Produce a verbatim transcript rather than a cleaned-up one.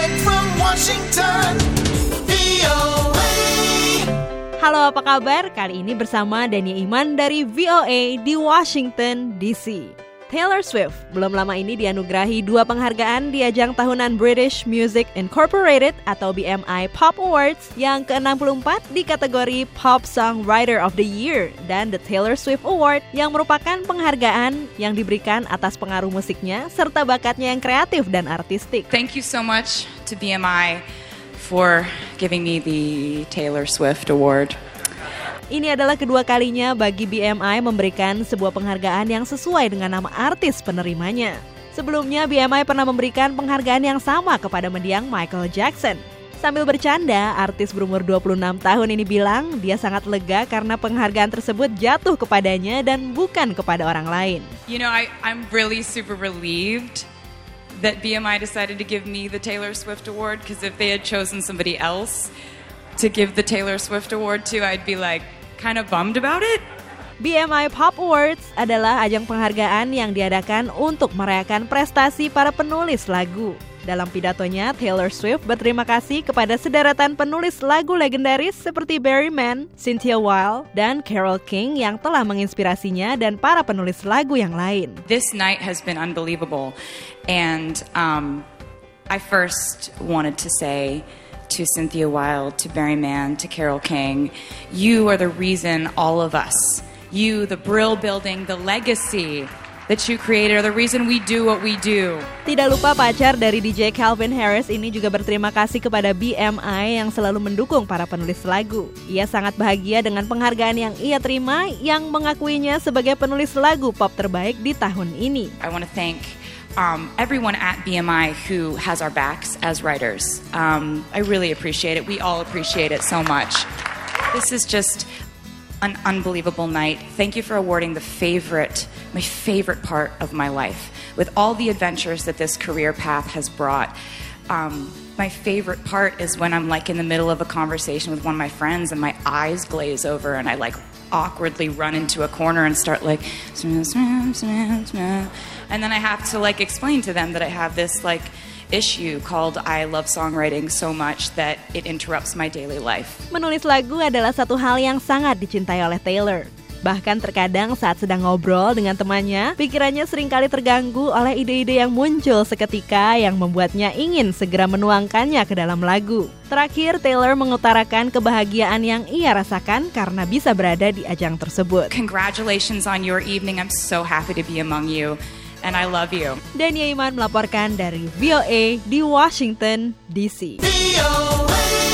Direct from Washington, V O A. Halo, apa kabar? Kali ini bersama Dania Iman dari V O A di Washington, D C. Taylor Swift belum lama ini dianugerahi dua penghargaan di ajang tahunan British Music Incorporated atau B M I Pop Awards yang ke enam puluh empat di kategori Pop Songwriter of the Year dan The Taylor Swift Award yang merupakan penghargaan yang diberikan atas pengaruh musiknya serta bakatnya yang kreatif dan artistik. Thank you so much to B M I for giving me the Taylor Swift Award. Ini adalah kedua kalinya bagi B M I memberikan sebuah penghargaan yang sesuai dengan nama artis penerimanya. Sebelumnya B M I pernah memberikan penghargaan yang sama kepada mendiang Michael Jackson. Sambil bercanda, artis berumur dua puluh enam tahun ini bilang dia sangat lega karena penghargaan tersebut jatuh kepadanya dan bukan kepada orang lain. You know, I, I'm really super relieved that B M I decided to give me the Taylor Swift Award, because if they had chosen somebody else to give the Taylor Swift Award to, I'd be like kind of bummed about it. B M I Pop Awards adalah ajang penghargaan yang diadakan untuk merayakan prestasi para penulis lagu. Dalam pidatonya, Taylor Swift berterima kasih kepada sederetan penulis lagu legendaris seperti Barry Mann, Cynthia Weil, dan Carole King yang telah menginspirasinya dan para penulis lagu yang lain. This night has been unbelievable, and um, I first wanted to say to Cynthia Weil, to Barry Mann, to Carole King, you are the reason all of us, you, the Brill Building, the legacy that you created, are the reason we do what we do. Tidak lupa pacar dari D J Calvin Harris ini juga berterima kasih kepada B M I yang selalu mendukung para penulis lagu. Ia sangat bahagia dengan penghargaan yang ia terima yang mengakuinya sebagai penulis lagu pop terbaik di tahun ini. I want to thank Um, everyone at B M I who has our backs as writers. Um, I really appreciate it. We all appreciate it so much. This is just an unbelievable night. Thank you for awarding the favorite, my favorite part of my life. With all the adventures that this career path has brought, um, my favorite part is when I'm like in the middle of a conversation with one of my friends and my eyes glaze over and I like awkwardly run into a corner and start like smell, smell, smell, smell. And then I have to like explain to them that I have this like issue called I love songwriting so much that it interrupts my daily life. Menulis lagu adalah satu hal yang sangat dicintai oleh Taylor. Bahkan terkadang saat sedang ngobrol dengan temannya, pikirannya seringkali terganggu oleh ide-ide yang muncul seketika yang membuatnya ingin segera menuangkannya ke dalam lagu. Terakhir, Taylor mengutarakan kebahagiaan yang ia rasakan karena bisa berada di ajang tersebut. Congratulations on your evening. I'm so happy to be among you. And I love you. Dania Iman melaporkan dari V O A di Washington, D C. V O A.